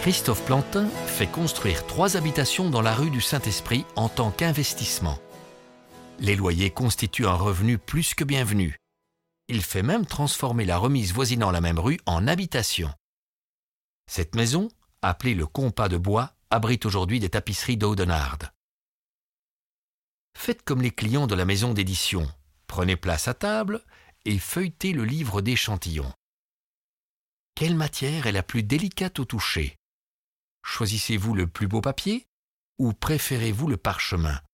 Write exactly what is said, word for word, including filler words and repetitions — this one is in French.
Christophe Plantin fait construire trois habitations dans la rue du Saint-Esprit en tant qu'investissement. Les loyers constituent un revenu plus que bienvenu. Il fait même transformer la remise voisinant la même rue en habitation. Cette maison, appelée le Compas de Bois, abrite aujourd'hui des tapisseries d'Audenarde. Faites comme les clients de la maison d'édition. Prenez place à table et feuilletez le livre d'échantillons. Quelle matière est la plus délicate au toucher ? Choisissez-vous le plus beau papier ou préférez-vous le parchemin ?